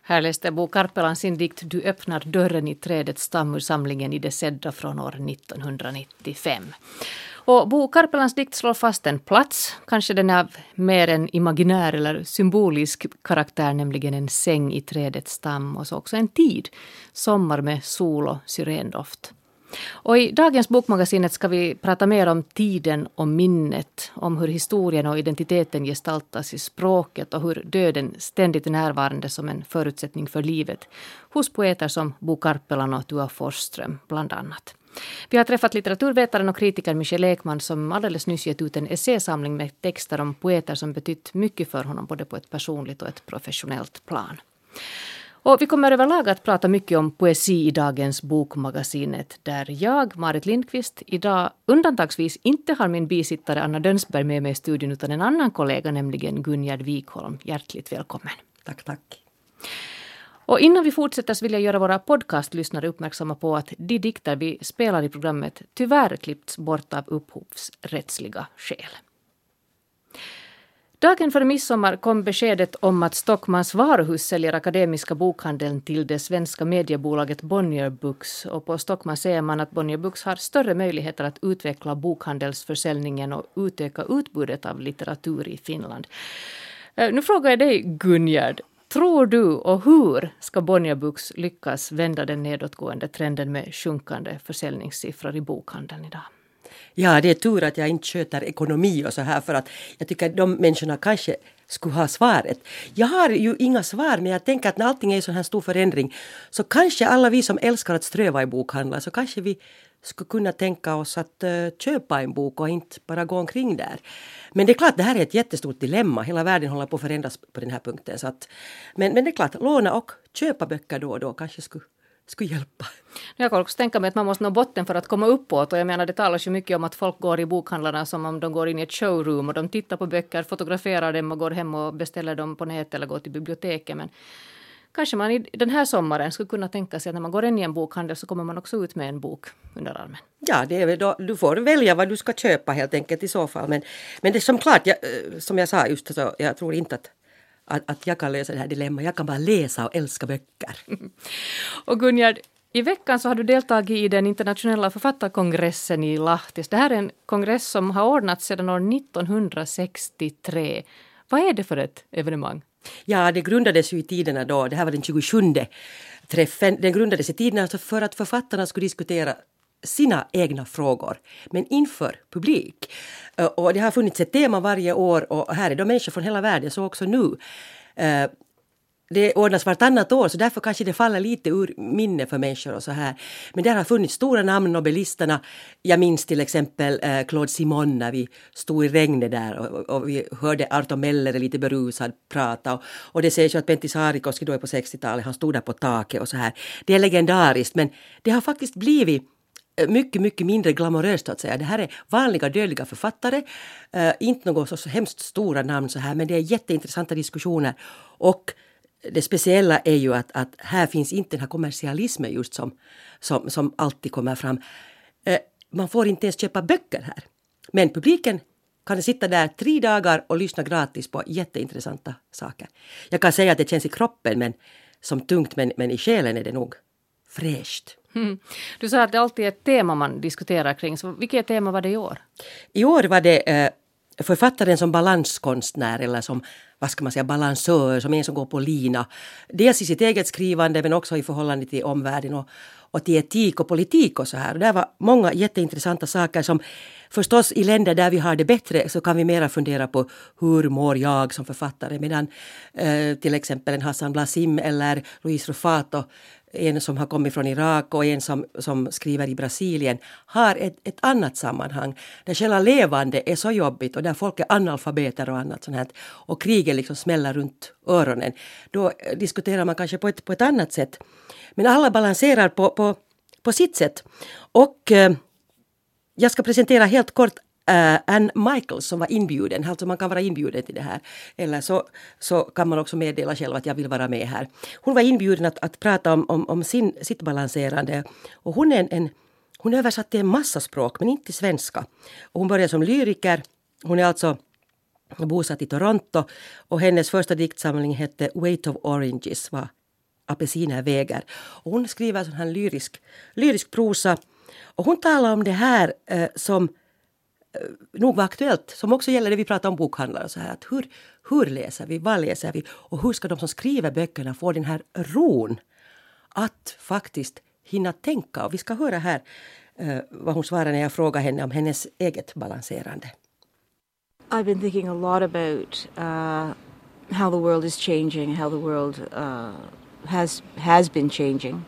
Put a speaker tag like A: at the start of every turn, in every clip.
A: Här läste Bo Karpelan sin dikt Du öppnar dörren i trädets stam ur samlingen I det sedda från år 1995. Och Bo Karpelans dikt slår fast en plats, kanske den är av mer en imaginär eller symbolisk karaktär, nämligen en säng i trädets stam, och så också en tid, sommar med sol och syrendoft. Och i dagens Bokmagasinet ska vi prata mer om tiden och minnet, om hur historien och identiteten gestaltas i språket och hur döden ständigt är närvarande som en förutsättning för livet hos poeter som Bo Karpelan och Tua Forsström bland annat. Vi har träffat litteraturvetaren och kritikern Michel Ekman som alldeles nyss gett ut en essäsamling med texter om poeter som betytt mycket för honom både på ett personligt och ett professionellt plan. Och vi kommer överlag att prata mycket om poesi i dagens Bokmagasinet, där jag, Marit Lindqvist, idag undantagsvis inte har min bisittare Anna Dönsberg med mig i studion utan en annan kollega, nämligen Gunjard Wikholm. Hjärtligt välkommen.
B: Tack.
A: Och innan vi fortsätter så vill jag göra våra podcastlyssnare uppmärksamma på att de dikter vi spelar i programmet tyvärr klippts bort av upphovsrättsliga skäl. Dagen före midsommar kom beskedet om att Stockmans varuhus säljer akademiska bokhandeln till det svenska mediebolaget Bonnier Books. Och på Stockman säger man att Bonnier Books har större möjligheter att utveckla bokhandelsförsäljningen och utöka utbudet av litteratur i Finland. Nu frågar jag dig, Gunjard. Tror du och hur ska Bonnier Books lyckas vända den nedåtgående trenden med sjunkande försäljningssiffror i bokhandeln idag?
B: Ja, det är tur att jag inte sköter ekonomi och så här, för att jag tycker att de människorna kanske skulle ha svaret. Jag har ju inga svar, men jag tänker att när allting är en sån här stor förändring så kanske alla vi som älskar att ströva i bokhandlar, så kanske vi skulle kunna tänka oss att köpa en bok och inte bara gå omkring där. Men det är klart, det här är ett jättestort dilemma. Hela världen håller på att förändras på den här punkten. Så att, men det är klart, låna och köpa böcker då och då kanske skulle hjälpa.
A: Jag kan också tänka mig att man måste nå botten för att komma uppåt. Och jag menar, det talas ju mycket om att folk går i bokhandlarna som om de går in i ett showroom och de tittar på böcker, fotograferar dem och går hem och beställer dem på nätet eller går till biblioteket. Men kanske man i den här sommaren skulle kunna tänka sig att när man går in i en bokhandel så kommer man också ut med en bok under armen.
B: Ja, det är väl då, du får välja vad du ska köpa helt enkelt i så fall. Men det är som klart, som jag sa just så, jag tror inte att jag kan lösa det här dilemma. Jag kan bara läsa och älska böcker.
A: Och Gunjard, i veckan så har du deltagit i den internationella författarkongressen i Lahtis. Det här är en kongress som har ordnats sedan år 1963. Vad är det för ett evenemang?
B: Ja, det grundades ju i tiderna då. Det här var den 27:e träffen. Den grundades i tiderna för att författarna skulle diskutera sina egna frågor, men inför publik. Och det har funnits ett tema varje år och här är de människor från hela världen, så också nu. Det ordnas vartannat år, så därför kanske det faller lite ur minne för människor och så här. Men där har funnits stora namn, nobelisterna. Jag minns till exempel Claude Simon när vi stod i regnet där och vi hörde Arto Meller lite berusad prata. Och det sägs ju att Pentti Saarikoski då är på 60-talet, han stod där på taket och så här. Det är legendariskt, men det har faktiskt blivit mycket mindre glamoröst att säga. Det här är vanliga dödliga författare, inte något så hemskt stora namn så här, men det är jätteintressanta diskussioner. Och det speciella är ju att här finns inte den här kommersialismen just som alltid kommer fram. Man får inte ens köpa böcker här. Men publiken kan sitta där 3 dagar och lyssna gratis på jätteintressanta saker. Jag kan säga att det känns i kroppen men som tungt, men i själen är det nog fräscht.
A: Du sa att det alltid är ett tema man diskuterar kring. Så vilket tema var det i år?
B: I år var det författaren som balanskonstnär eller som, vad ska man säga, balansör, som en som går på lina. Dels i sitt eget skrivande men också i förhållande till omvärlden och till etik och politik och så här. Och där var många jätteintressanta saker som förstås i länder där vi har det bättre så kan vi mera fundera på hur mår jag som författare, medan till exempel en Hassan Blassim eller Luis Rufato, en som har kommit från Irak och en som skriver i Brasilien, har ett annat sammanhang där själva levande är så jobbigt och där folk är analfabeter och annat sånt här och kriget liksom smäller runt öronen. Då diskuterar man kanske på ett annat sätt. Men alla balanserar på sitt sätt. Och jag ska presentera helt kort Anne Michaels som var inbjuden. Alltså man kan vara inbjuden till det här. Eller så kan man också meddela själv att jag vill vara med här. Hon var inbjuden att prata om sitt balanserande. Och hon är översatt till en massa språk men inte till svenska. Och hon började som lyriker. Hon är alltså bosatt i Toronto. Och hennes första diktsamling hette Weight of Oranges, var apelsiner väger. Och hon skriver sån här lyrisk prosa. Och hon talar om det här som nog var aktuellt, som också gäller det vi pratar om bokhandlare och så här, att hur läser vi, vad läser vi och hur ska de som skriver böckerna få den här ron att faktiskt hinna tänka. Och vi ska höra här vad hon svarar när jag frågar henne om hennes eget balanserande.
C: I've been thinking a lot about how the world is changing, how the world has been changing.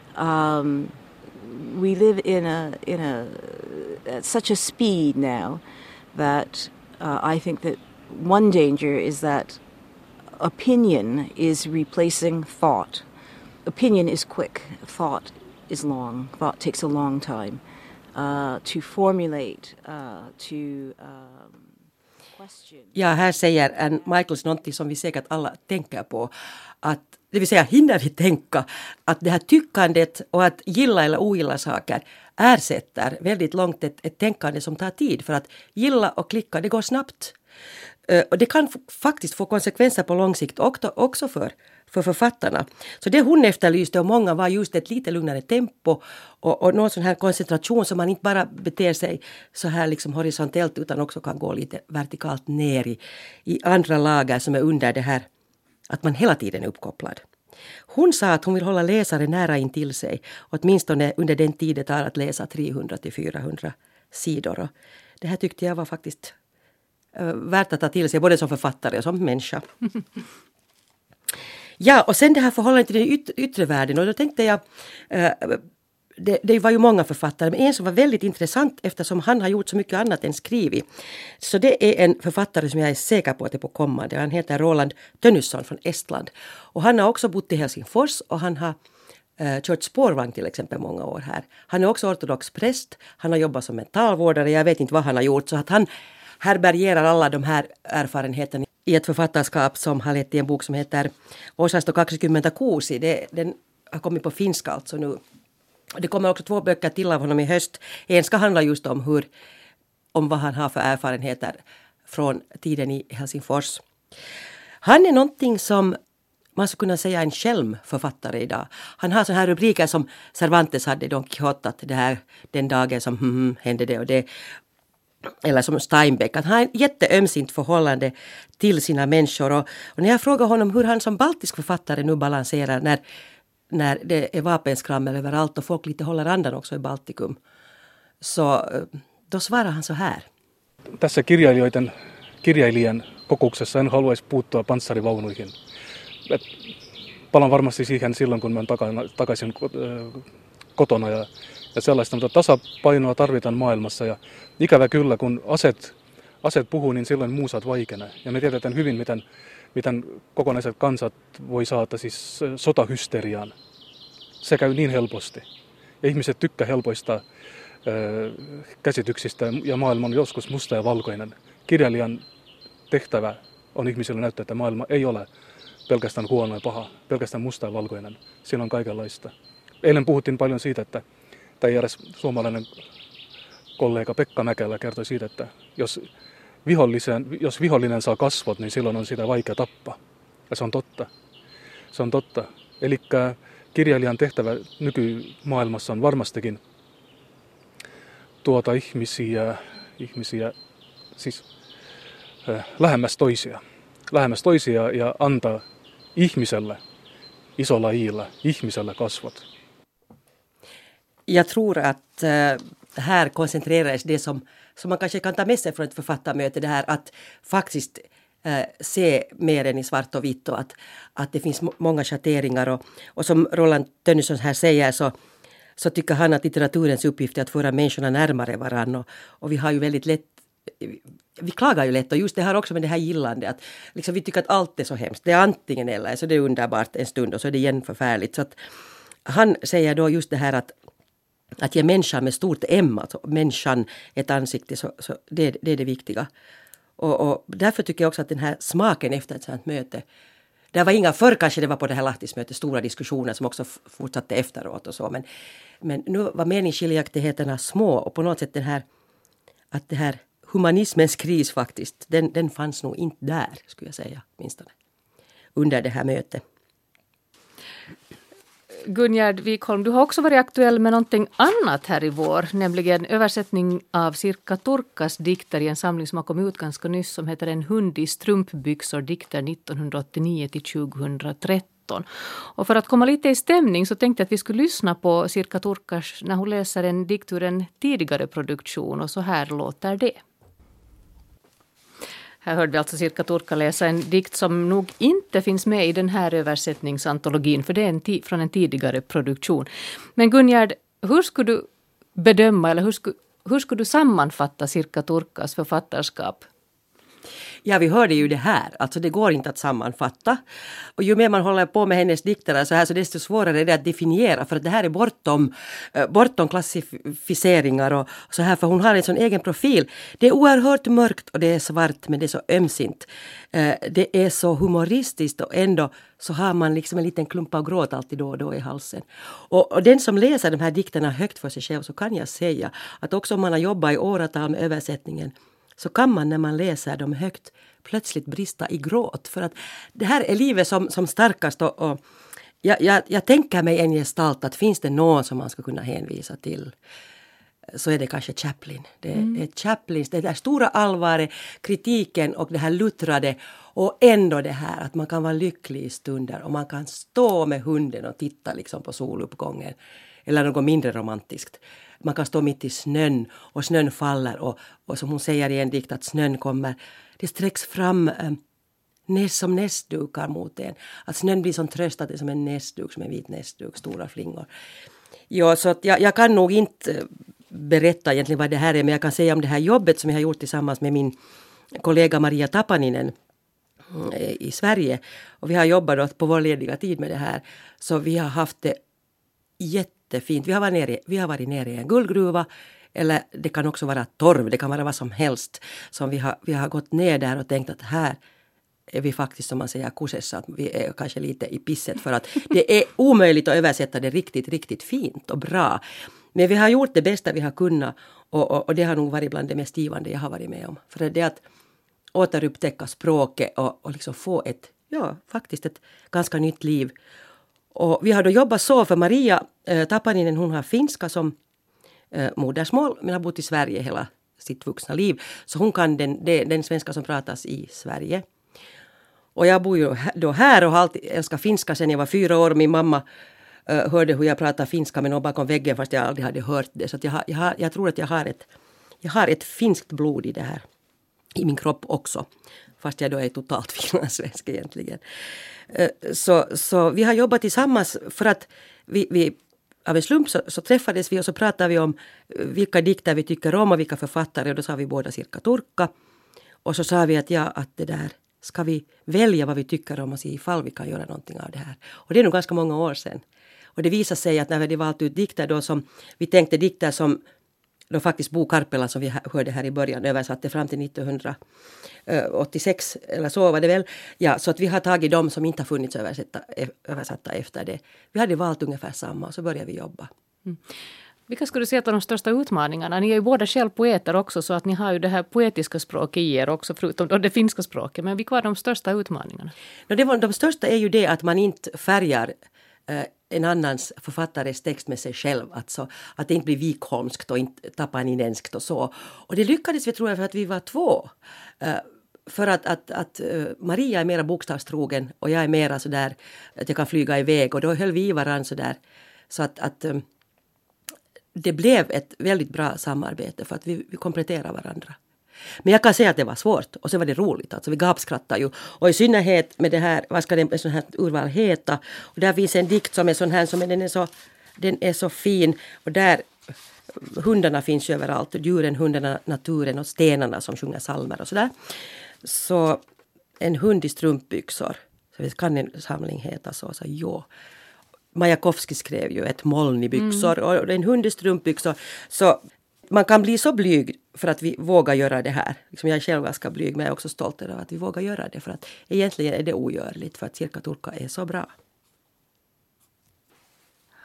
C: We live in a at such a speed now that I think that one danger is that opinion is replacing thought. Opinion is quick, thought is long. Thought takes a long time to formulate, to question.
B: Ja, här säger Anne Michaels någonting som vi säkert alla tänker på. Att, det vill säga, hinner vi tänka att det här tyckandet och att gilla eller ogilla saker ersätter väldigt långt ett tänkande som tar tid. För att gilla och klicka, det går snabbt. Och det kan faktiskt få konsekvenser på lång sikt också för författarna. Så det hon efterlyste och många var just ett lite lugnare tempo och någon sån här koncentration som man inte bara beter sig så här liksom horisontellt utan också kan gå lite vertikalt ner i andra lager som är under det här att man hela tiden är uppkopplad. Hon sa att hon vill hålla läsare nära in till sig åtminstone under den tid det tar att läsa 300-400 sidor. Och det här tyckte jag var faktiskt värt att ta till sig både som författare och som människa. Ja, och sen det här förhållandet till den yttre världen. Och då tänkte jag, det var ju många författare, men en som var väldigt intressant eftersom han har gjort så mycket annat än skrivit. Så det är en författare som jag är säker på att det är på kommande. Han heter Roland Tönnysson från Estland. Och han har också bott i Helsingfors och han har kört spårvagn till exempel många år här. Han är också ortodox präst, han har jobbat som mentalvårdare, jag vet inte vad han har gjort. Så att han härbärgerar alla de här erfarenheterna i ett författarskap som har lett till en bok som heter Osasto 26. Den har kommit på finska alltså nu. Det kommer också 2 böcker till av honom i höst. En ska handla just om vad han har för erfarenheter från tiden i Helsingfors. Han är någonting som man skulle kunna säga en självförfattare idag. Han har så här rubriker som Cervantes hade i Don Quixote, att det här den dagen som hände det och det. Eller som Steinbeck, att han har ett jätteömsint förhållande till sina människor. Och när jag frågar honom hur han som baltisk författare nu balanserar när det är vapenskrammel överallt och folk lite håller andan också i Baltikum, så då svarar han så här.
D: Tässä kirjailijan kokouksessa en haluaisi puuttua panssarivaunuihin. Palaan varmasti siihen silloin, kun mä oon takaisin kotona ja sellaista, mutta tasapainoa tarvitaan maailmassa ja ikävä kyllä, kun aseet puhuu, niin silloin muusat vaikenee. Ja me tiedetään hyvin, miten kokonaiset kansat voi saada siis sotahysteriaan. Se käy niin helposti. Ja ihmiset tykkää helpoista käsityksistä ja maailma on joskus musta ja valkoinen. Kirjailijan tehtävä on ihmisille näyttää, että maailma ei ole pelkästään huono ja paha, pelkästään musta ja valkoinen. Siinä on kaikenlaista. Eilen puhuttiin paljon siitä, että tai eräs suomalainen kollega Pekka Mäkelä kertoi siitä, että jos vihollinen saa kasvot, niin silloin on sitä vaikea tappaa. Ja se on totta. Se on totta. Eli kirjailijan tehtävä nykymaailmassa on varmastikin tuota ihmisiä siis lähemmäs toisia ja antaa ihmiselle isolla iillä, ihmiselle kasvot.
B: Jag tror att här koncentrerades det som man kanske kan ta med sig från ett författarmöte, det här att faktiskt se mer än i svart och vitt och att det finns många schatteringar och som Roland Tönnysson här säger så tycker han att litteraturens uppgift är att föra människorna närmare varann och vi har ju väldigt lätt, vi klagar ju lätt och just det här också med det här gillande att liksom vi tycker att allt är så hemskt, det är antingen eller så det är underbart en stund och så är det igen förfärligt, så att han säger då just det här att ge människan med stort M, alltså människan ett ansikte, så det är det viktiga. Och därför tycker jag också att den här smaken efter ett sådant möte, det var inga, förr kanske det var på det här Lahtismötet stora diskussioner som också fortsatte efteråt och så, men nu var meningsskiljaktigheterna små och på något sätt att det här humanismens kris faktiskt, den fanns nog inte där, skulle jag säga, åtminstone under det här mötet.
A: Gunjard Wikholm, du har också varit aktuell med någonting annat här i vår, nämligen översättning av Sirkka Turkkas dikter i en samling som har kommit ut ganska nyss som heter En hund i strumpbyxor, dikter 1989-2013. Och för att komma lite i stämning så tänkte jag att vi skulle lyssna på Sirkka Turkkas när hon läser en dikt ur en tidigare produktion, och så här låter det. Här hörde vi alltså Sirkka Turkka läsa en dikt som nog inte finns med i den här översättningsantologin, för det är från en tidigare produktion. Men Gunjard, hur skulle du bedöma eller hur skulle du sammanfatta Sirkka Turkkas författarskap?
B: Ja, vi hörde ju det här. Alltså det går inte att sammanfatta. Och ju mer man håller på med hennes dikter så här, så desto svårare är det att definiera. För att det här är bortom klassificeringar och så här. För hon har en sån egen profil. Det är oerhört mörkt och det är svart, men det är så ömsint. Det är så humoristiskt och ändå så har man liksom en liten klump av gråt alltid då och då i halsen. Och den som läser de här dikterna högt för sig själv, så kan jag säga att också om man har jobbat i åratal med översättningen, så kan man när man läser dem högt plötsligt brista i gråt. För att det här är livet som starkast. Och jag tänker mig en gestalt att finns det någon som man ska kunna hänvisa till, så är det kanske Chaplin. Det är Chaplins, det där stora allvaret, kritiken och det här luttrade. Och ändå det här att man kan vara lycklig i stunder och man kan stå med hunden och titta liksom på soluppgången. Eller något mindre romantiskt. Man kan stå mitt i snön och snön faller och som hon säger i en dikt att snön kommer. Det sträcks fram som näsdukar mot en. Att snön blir som tröst att det är som en näsduk, som en vit näsduk, stora flingor. Ja, så att jag kan nog inte berätta egentligen vad det här är, men jag kan säga om det här jobbet som jag har gjort tillsammans med min kollega Maria Tapaninen i Sverige. Och vi har jobbat då på vår lediga tid med det här. Så vi har haft det jättefint. Vi har varit nere i en guldgruva, eller det kan också vara torv, det kan vara vad som helst. Som vi har gått ner där och tänkt att här är vi faktiskt, som man säger, kusessa, att vi är kanske lite i pisset, för att det är omöjligt att översätta det riktigt, riktigt fint och bra. Men vi har gjort det bästa vi har kunnat, och det har nog varit bland det mest givande jag har varit med om. För det är att återupptäcka språket och liksom få faktiskt ett ganska nytt liv. Och vi har då jobbat så, för Maria Tapaninen, hon har finska som modersmål, men har bott i Sverige hela sitt vuxna liv. Så hon kan den svenska som pratas i Sverige. Och jag bor ju då här och har alltid älskat finska sedan jag var 4 år. Min mamma hörde hur jag pratade finska med någon bakom väggen, fast jag aldrig hade hört det. Så att jag tror att jag har ett finskt blod i det här, i min kropp också. Fast jag då är totalt finlandssvensk egentligen. Så vi har jobbat tillsammans för att vi av en slump så träffades vi och så pratade vi om vilka dikter vi tycker om och vilka författare. Och då sa vi båda Sirkka Turkka. Och så sa vi att det där ska vi välja vad vi tycker om och se ifall vi kan göra någonting av det här. Och det är nog ganska många år sedan. Och det visar sig att när vi valt ut dikter då som vi tänkte dikter som då faktiskt Bo Karpela, som vi hörde här i början, översatte fram till 1986 eller så var det väl. Ja, så att vi har tagit dem som inte har funnits översatta efter det. Vi hade valt ungefär samma och så började vi jobba.
A: Mm. Vilka skulle du säga att de största utmaningarna? Ni är ju båda själv poeter också, så att ni har ju det här poetiska språket i er också, förutom det finska språket. Men vilka var de största utmaningarna?
B: De största är ju det att man inte färgar en annans författares text med sig själv. Alltså, att det inte blir vikholmskt och inte tapaninenskt och så. Och det lyckades vi, tror jag, för att vi var 2. För att Maria är mera bokstavstrogen och jag är mera sådär att jag kan flyga iväg. Och då höll vi i varandra sådär. Så att det blev ett väldigt bra samarbete för att vi kompletterar varandra. Men jag kan säga att det var svårt och så var det roligt. Alltså vi gapskrattade ju. Och i synnerhet med det här, vad ska det sån här urval heta? Och där finns en dikt som är sån här, den är så fin. Och där, hundarna finns ju överallt. Djuren, hundarna, naturen och stenarna som sjunger psalmer och sådär. Så en hund i strumpbyxor. Så det kan en samling heta så ja. Majakovskij skrev ju ett moln i byxor och en hund i strumpbyxor. Så man kan bli så blyg för att vi vågar göra det här. Liksom jag är själv ganska blyg, men jag är också stolt över att vi vågar göra det. För att egentligen är det ogörligt, för att Sirkka Turkka är så bra.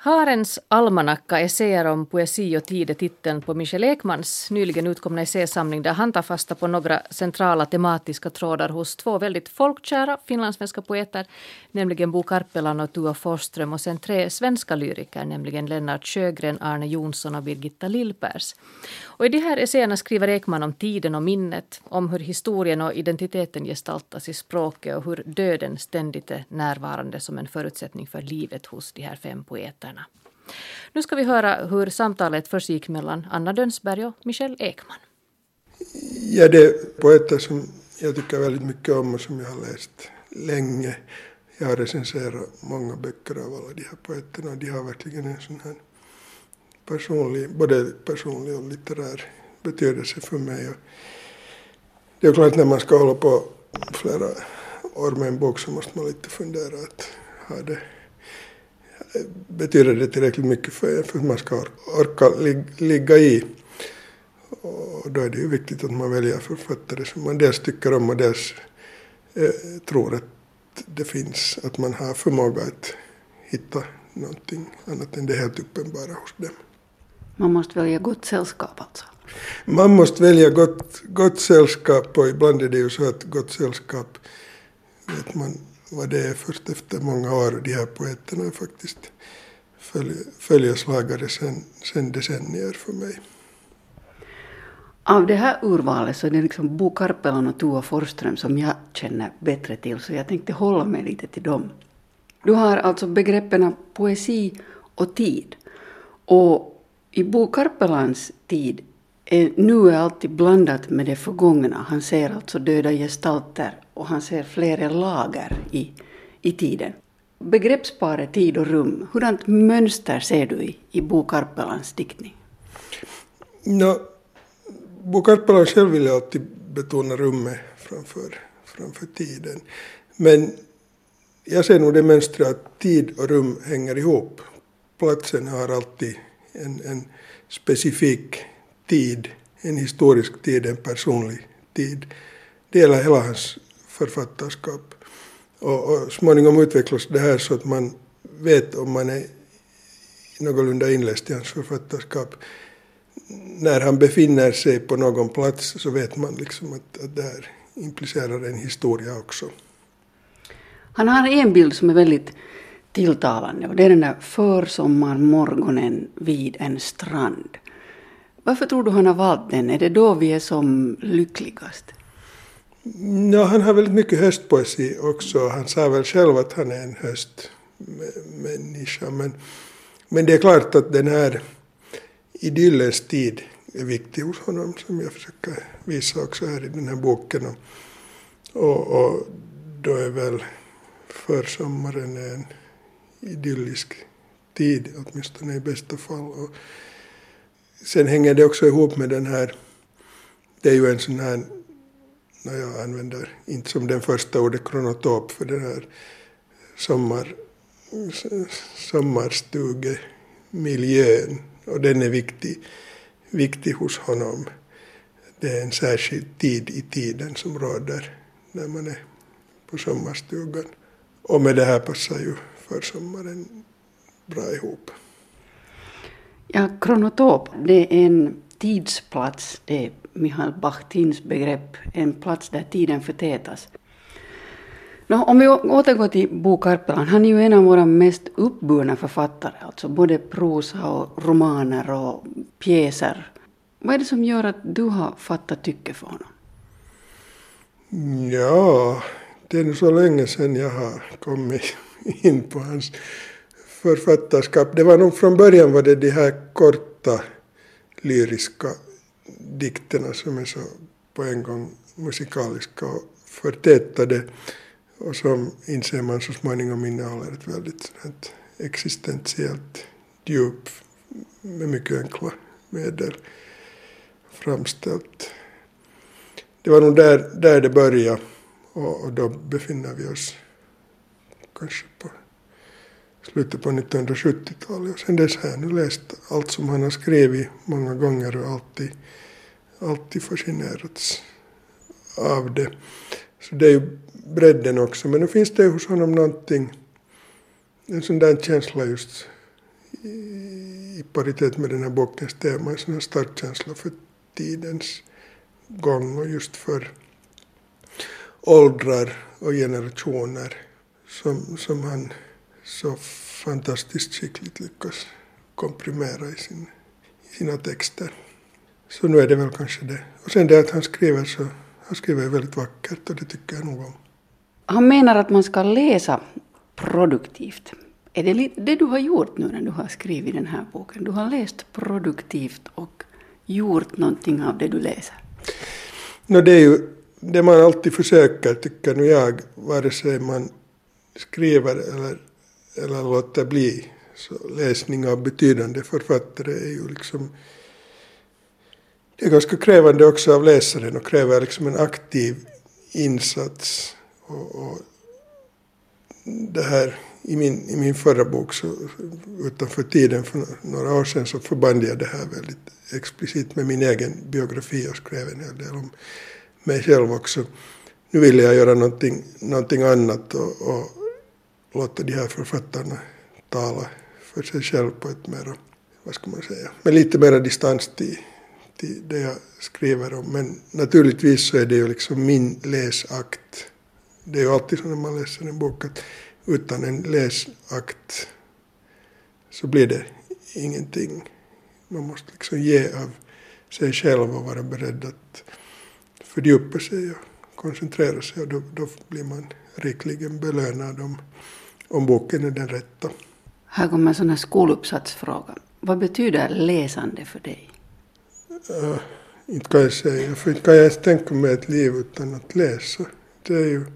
A: Harens almanacka, essäer om poesi och tid är titeln på Michel Ekmans nyligen utkomna essäsamling där han tar fasta på några centrala tematiska trådar hos två väldigt folkkära finlandssvenska poeter, nämligen Bo Karpelan och Tua Forsström, och sen 3 svenska lyriker, nämligen Lennart Sjögren, Arne Jonsson och Birgitta Lillpers. Och i de här essäerna skriver Ekman om tiden och minnet, om hur historien och identiteten gestaltas i språket och hur döden ständigt är närvarande som en förutsättning för livet hos de här 5 poeterna. Nu ska vi höra hur samtalet försiggick mellan Anna Dönsberg och Michel Ekman.
E: Ja, det är poeter som jag tycker väldigt mycket om och som jag har läst länge. Jag har recenserat många böcker av alla de här poeterna och de har verkligen en sån här både personlig och litterär betydelse för mig. Och det är klart när man ska hålla på flera år med en bok så måste man lite fundera att betyder det tillräckligt mycket för att man ska orka ligga i. Och då är det ju viktigt att man väljer författare som man dels tycker om och dels tror att det finns, att man har förmåga att hitta någonting annat än det helt uppenbara hos dem.
F: Man måste välja gott sällskap alltså?
E: Man måste välja gott sällskap, och ibland är det ju så att gott sällskap vet man vad det är först efter många år. De här poeterna är faktiskt följeslagare sen decennier för mig.
F: Av det här urvalet så är det liksom Bo Karpelan och Tua Forsström som jag känner bättre till, så jag tänkte hålla mig lite till dem. Du har alltså begreppen poesi och tid. Och i Bo Karpelans tid nu är alltid blandat med det förgångna. Han ser alltså döda gestalter och han ser flera lager i tiden. Begreppsparet tid och rum, hurdant mönster ser du i Bo Karpelans diktning?
E: Bo Karpelan själv vill alltid betona rummet framför tiden. Men jag ser nog det mönstret att tid och rum hänger ihop. Platsen har alltid en specifik tid, en historisk tid, en personlig tid. Det gäller hela hans författarskap. Och småningom utvecklas det här så att man vet, om man är någorlunda inläst i hans författarskap, när han befinner sig på någon plats så vet man liksom att det här implicerar en historia också.
F: Han har en bild som är väldigt tilltalande, och det är den där försommarmorgonen vid en strand. Varför tror du han har valt den? Är det då vi är som lyckligast?
E: Ja, han har väldigt mycket höstpoesi också. Han sa väl själv att han är en höstmänniska. Men det är klart att den här idyllens tid är viktig hos honom, som jag försöker visa också här i den här boken. Och då är väl försommaren en idyllisk tid, åtminstone i bästa fall. Och sen hänger det också ihop med den här, det är ju en sån här, när jag använder inte som den första ordet kronotop för den här sommarstugemiljön, och den är viktig hos honom. Det är en särskild tid i tiden som råder när man är på sommarstugan. Och med det här passar ju försommaren bra ihop.
F: Ja, kronotop, det är en tidsplats, det är Michael Bachtins begrepp, en plats där tiden förtätas. Om vi återgår till Bo Karpelan, han är ju en av våra mest uppburna författare, alltså både prosa och romaner och pjäser. Vad är det som gör att du har fattat tycke för honom?
E: Ja, det är nu så länge sedan jag har kommit in på hans författarskap. Det var nog från början var det de här korta lyriska dikterna som är så på en gång musikaliska och förtätade, och som inser man så småningom innehåller ett väldigt existentiellt djup med mycket enkla medel framställt. Det var nog där det började, och då befinner vi oss kanske på slutet på 1970-talet. Och sen dess har jag nu läst allt som han har skrivit många gånger och alltid fascinerats av det. Så det är ju bredden också. Men nu finns det hos honom någonting, en sån där känsla just i paritet med den här bokens tema, en sån här stark känsla för tidens gång och just för åldrar och generationer som han så fantastiskt skickligt lyckas komprimera i sina texter. Så nu är det väl kanske det. Och sen det att han skriver väldigt vackert och det tycker jag nog om.
F: Han menar att man ska läsa produktivt. Är det du har gjort nu när du har skrivit den här boken? Du har läst produktivt och gjort någonting av det du läser?
E: Det är ju det man alltid försöker, tycker nu jag, vare sig man skriver eller låter bli. Så läsning av betydande författare är ju liksom, det är ganska krävande också av läsaren och kräver liksom en aktiv insats. Och det här i min förra bok, så utanför tiden för några år sedan, så förband jag det här väldigt explicit med min egen biografi och skrev en hel del om mig själv också. Nu vill jag göra någonting annat och låta de här författarna tala för sig själv på ett mer, vad ska man säga, med lite mer distans till det jag skriver om. Men naturligtvis så är det ju liksom min läsakt. Det är ju alltid så när man läser en bok att utan en läsakt så blir det ingenting. Man måste liksom ge av sig själv och vara beredd att fördjupa sig och koncentrera sig. Och då blir man rikligen belönad om boken är den rätta.
F: Här kommer en sån här skoluppsatsfråga. Vad betyder läsande för dig?
E: Inte kan jag säga. För inte kan jag ens tänka mig ett liv utan att läsa. Det är ju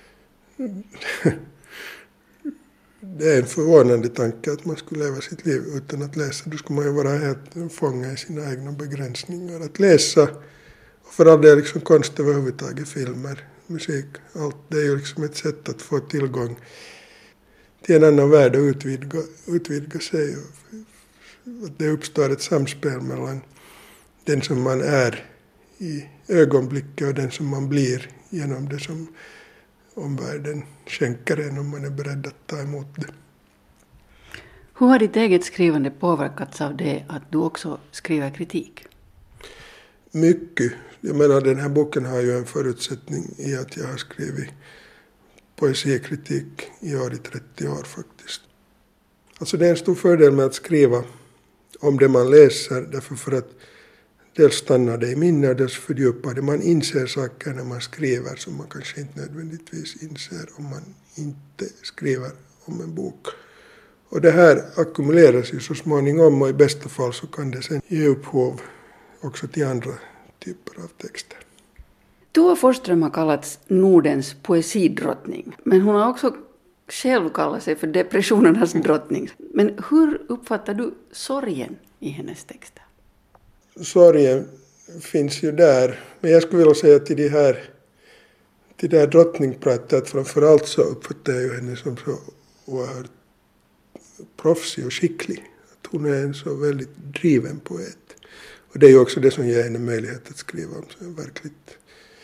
E: det är en förvånande tanke att man skulle leva sitt liv utan att läsa. Då skulle man ju vara helt fånga i sina egna begränsningar. Att läsa, och för all del liksom konst överhuvudtaget, filmer, musik, allt. Det är ju liksom ett sätt att få tillgång till en annan värld och utvidga sig. Och att det uppstår ett samspel mellan den som man är i ögonblicket och den som man blir genom det som omvärlden skänker en, om man är beredd att ta emot det.
F: Hur har ditt eget skrivande påverkats av det att du också skriver kritik?
E: Mycket. Jag menar, den här boken har ju en förutsättning i att jag har skrivit poesikritik i 30 år faktiskt. Alltså det är en stor fördel med att skriva om det man läser, därför för att dels stannar det i minne och dels fördjupar det. Man inser saker när man skriver som man kanske inte nödvändigtvis inser om man inte skriver om en bok. Och det här ackumuleras ju så småningom, och i bästa fall så kan det sen ge upphov också till andra typer av texter.
F: Tua Forsström har kallats Nordens poesidrottning, men hon har också själv kallat sig för depressionernas drottning. Men hur uppfattar du sorgen i hennes texter?
E: Sorgen finns ju där, men jag skulle vilja säga till det här drottningpratet, framförallt så uppfattar jag ju henne som så oerhört proffsig och skicklig. Att hon är en så väldigt driven poet. Och det är ju också det som ger henne möjlighet att skriva om så verkligt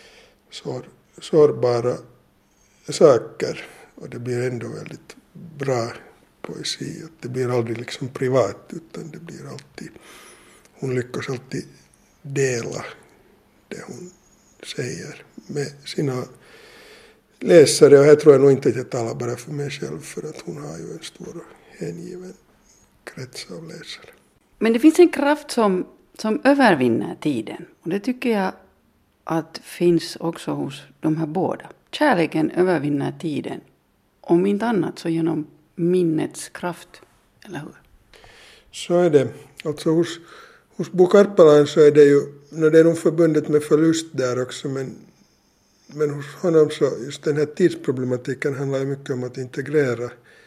E: sårbara saker. Och det blir ändå väldigt bra poesi. Att det blir aldrig liksom privat, utan det blir alltid, hon lyckas alltid dela det hon säger med sina läsare. Och här tror jag nog inte att jag talar bara för mig själv, för att hon har ju en stor och hängiven krets av läsare.
F: Men det finns en kraft som övervinner tiden. Och det tycker jag att finns också hos de här båda. Kärleken övervinner tiden. Om inte annat så genom minnets kraft, eller hur? Så
E: är det. Alltså hos Bo Karpelan så är det ju, det är nog förbundet med förlust där också, men hos honom så just den här tidsproblematiken handlar ju mycket om att integrera,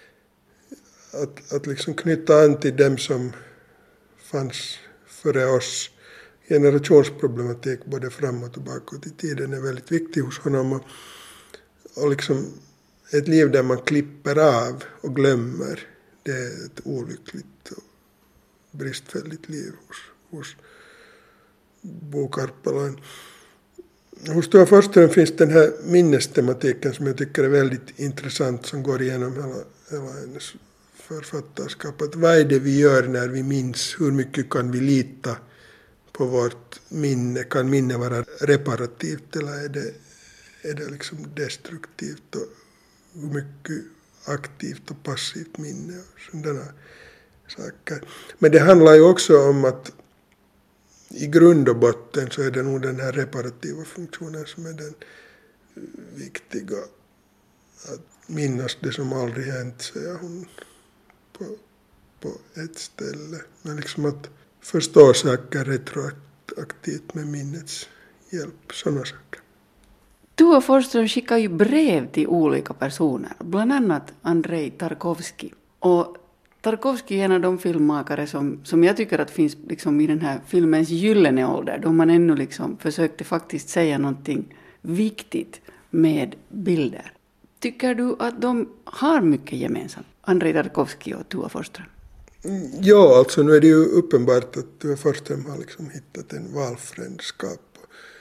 E: att liksom knyta an till dem som fanns före oss. Generationsproblematik både fram och tillbaka i tiden är väldigt viktig hos honom, och liksom ett liv där man klipper av och glömmer, det är ett olyckligt och bristfälligt liv hos Bo Karpelan. Hos Tua Forsström finns den här minnestematiken som jag tycker är väldigt intressant, som går igenom hela hennes författarskap. Att vad är det vi gör när vi minns? Hur mycket kan vi lita på vårt minne? Kan minne vara reparativt eller är det liksom destruktivt? Och hur mycket aktivt och passivt minne och sådana saker. Men det handlar ju också om att i grund och botten så är det nog den här reparativa funktionen som är den viktiga. Att minnas det som aldrig hänt, säger hon på ett ställe. Men liksom att förstå saker retroaktivt med minnets hjälp, sådana saker.
F: Tua Forsström skickar ju brev till olika personer, bland annat Andrei Tarkovsky. Och Tarkovsky är en av de filmmakare som jag tycker att finns liksom i den här filmens gyllene ålder, då man ännu liksom försökte faktiskt säga någonting viktigt med bilder. Tycker du att de har mycket gemensamt, Andrei Tarkovsky och Tua Forsström?
E: Ja, alltså nu är det ju uppenbart att Tua Forsström har liksom hittat en valfrändskap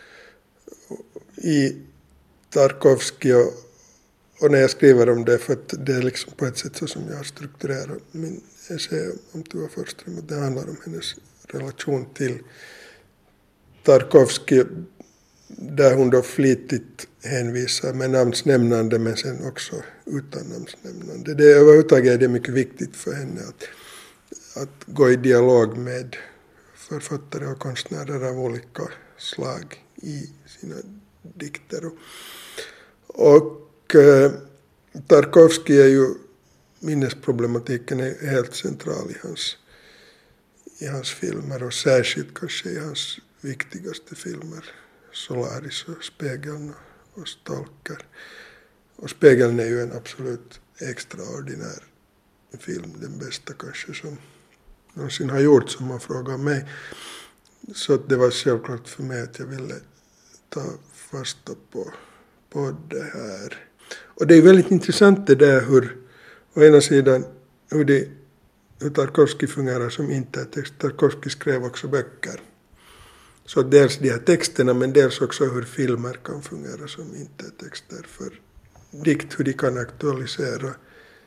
E: i Tarkovsky och när jag skriver om det, för att det är liksom på ett sätt så som jag har strukturerat min essä om Tua Forsström, att det handlar om hennes relation till Tarkovsky, där hon då flitigt hänvisar med namnsnämnande men sen också utan namnsnämnande. Det överhuvudtaget är det mycket viktigt för henne att gå i dialog med författare och konstnärer av olika slag i sina dikter. Och Tarkovsky är ju, minnesproblematiken är helt central i hans filmer och särskilt kanske i hans viktigaste filmer, Solaris och Spegeln och Stalker. Och Spegeln är ju en absolut extraordinär film, den bästa kanske som någonsin har gjort, som man frågar mig. Så det var självklart för mig att jag ville ta fasta på det här. Och det är väldigt intressant det där hur, å ena sidan, hur Tarkovsky fungerar som intertext. Tarkovsky skrev också böcker. Så dels de här texterna, men dels också hur filmer kan fungera som intertexter för dikt, hur de kan aktualisera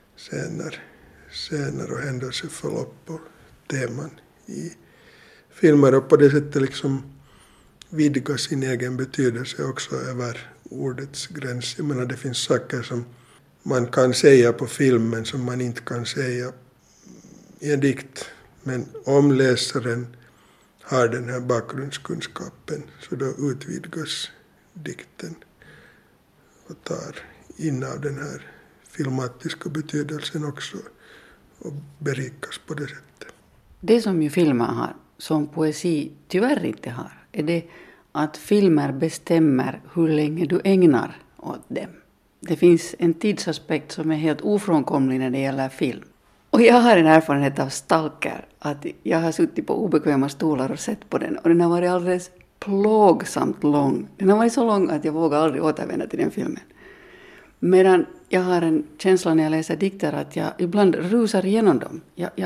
E: scener och händelseförlopp och teman i filmer och på det sättet liksom vidga sin egen betydelse också över ordets gräns. Jag menar, det finns saker som man kan säga på filmen som man inte kan säga i en dikt. Men om läsaren har den här bakgrundskunskapen så då utvidgas dikten och tar in av den här filmatiska betydelsen också och berikas på det sättet.
F: Det som ju filmer har, som poesi tyvärr inte har, är det att filmer bestämmer hur länge du ägnar åt dem. Det finns en tidsaspekt som är helt ofrånkomlig när det gäller film. Och jag har en erfarenhet av Stalker, att jag har suttit på obekväma stolar och sett på den. Och den har varit alldeles plågsamt lång. Den har varit så lång att jag vågar aldrig återvända till den filmen. Medan jag har en känsla när jag läser dikter att jag ibland rusar igenom dem.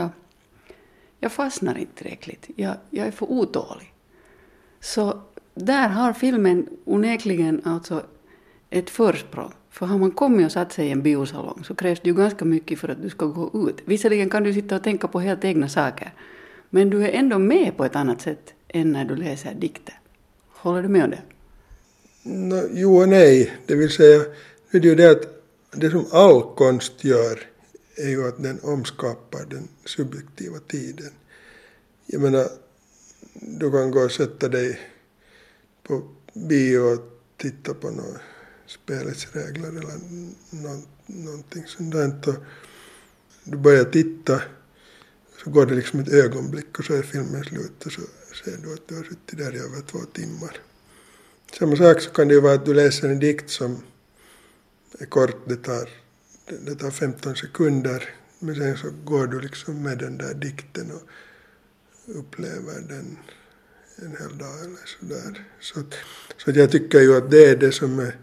F: Jag fastnar inte tillräckligt. Jag är för otålig. Så där har filmen onekligen alltså ett försprång. För har man kommit och satt sig i en biosalong så krävs det ju ganska mycket för att du ska gå ut. Visserligen kan du sitta och tänka på helt egna saker. Men du är ändå med på ett annat sätt än när du läser dikter. Håller du med om det?
E: Jo och nej. Det vill säga, det är ju det att det som all konst gör är ju att den omskapar den subjektiva tiden. Jag menar, du kan gå och sätta dig på bio och titta på något spelets regler eller någonting sånt där. Och du börjar titta, så går det liksom ett ögonblick och så är filmen slut och så ser du att du har suttit där i över 2 timmar. Samma sak så kan det ju vara att du läser en dikt som är kort, det tar 15 sekunder, men sen så går du liksom med den där dikten och upplever den en hel dag eller sådär. Så att jag tycker ju att det är det som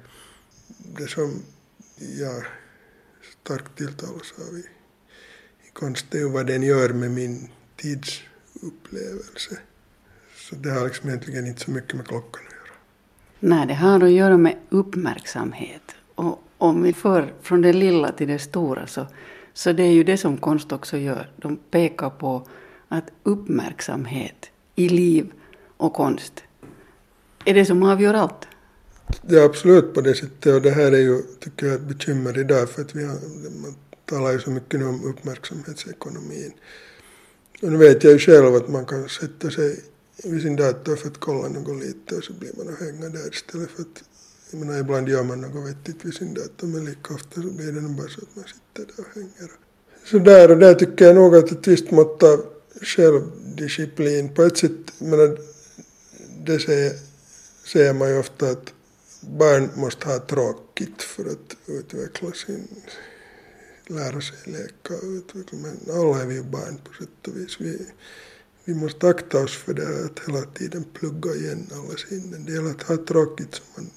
E: jag starkt tilltalas av i konst, det är vad den gör med min tidsupplevelse. Så det har liksom egentligen inte så mycket med klockan att göra.
F: Nej, det har att göra med uppmärksamhet. Och om vi för från det lilla till det stora så Så det är ju det som konst också gör. De pekar på att uppmärksamhet i liv och konst är det som avgör allt.
E: Det är absolut på det sättet, och det här är ju, tycker jag, ett bekymmer idag, för att man talar ju så mycket om uppmärksamhetsekonomin. Och nu vet jag ju själv att man kan sätta sig vid sin dator för att kolla något lite, och så blir man och hänga där istället för att, jag menar, ibland gör man något vettigt vid sin dator, men lika ofta så blir det nog bara så att man sitter där och hänger. Så där, och där tycker jag nog att ett visst mått av självdisciplin på ett sätt, menar, det säger man ju ofta att barn måste ha tråkigt för att utveckla lära sig leka och utveckla, men alla är vi ju barn på sätt och vis. Vi måste akta oss för det här att hela tiden plugga igen alla sinnen. Det gäller att ha tråkigt så man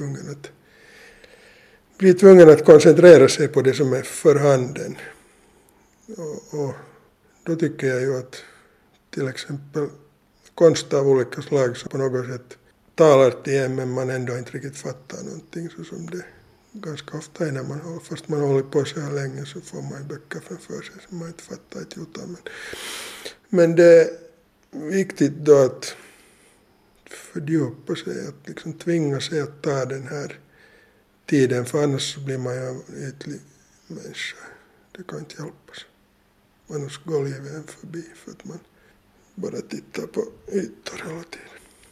E: blir tvungen att koncentrera sig på det som är för handen. Och då tycker jag ju att till exempel konst av olika slag som på något sätt talar till en, men man ändå inte riktigt fattar någonting, så som det ganska ofta är när fast man håller på så här länge, så får man ju böcker framför sig som man inte fattar ett jota. Men det är viktigt då att fördjupa sig, att liksom tvinga sig att ta den här tiden, för annars blir man ju en ytlig människa. Det kan inte hjälpas. Annars går livet en förbi för att man bara tittar på ytor hela tiden.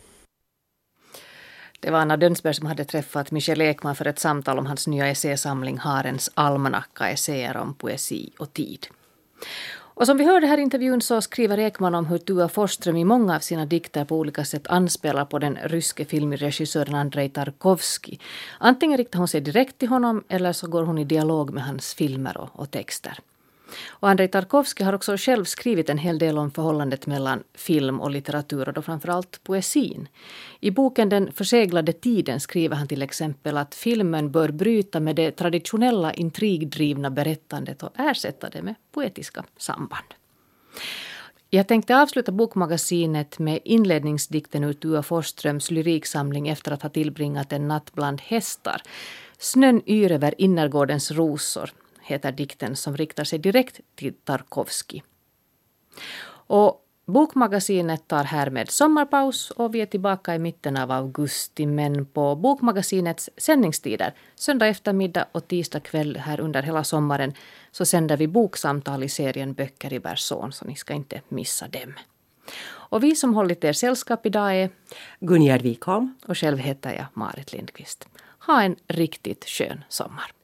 A: Det var Anna Dönsberg som hade träffat Michel Ekman för ett samtal om hans nya essäsamling Harens almanacka, essäer om poesi och tid. Och som vi hörde här i intervjun så skriver Ekman om hur Tua Forsström i många av sina dikter på olika sätt anspelar på den ryske filmregissören Andrei Tarkovsky. Antingen riktar hon sig direkt till honom eller så går hon i dialog med hans filmer och texter. Och Andrei Tarkovsky har också själv skrivit en hel del om förhållandet mellan film och litteratur, och då framförallt poesin. I boken Den förseglade tiden skriver han till exempel att filmen bör bryta med det traditionella intrigdrivna berättandet och ersätta det med poetiska samband. Jag tänkte avsluta bokmagasinet med inledningsdikten ur Tua Forsströms lyriksamling efter att ha tillbringat en natt bland hästar. Snön yr över innergårdens rosor heter dikten, som riktar sig direkt till Tarkovsky. Och bokmagasinet tar härmed sommarpaus och vi är tillbaka i mitten av augusti, men på bokmagasinets sändningstider, söndag eftermiddag och tisdag kväll här under hela sommaren, så sänder vi boksamtal i serien Böcker i Berson, så ni ska inte missa dem. Och vi som hållit er sällskap idag är
B: Gunjärd Wikholm.
A: Och själv heter jag Marit Lindqvist. Ha en riktigt skön sommar.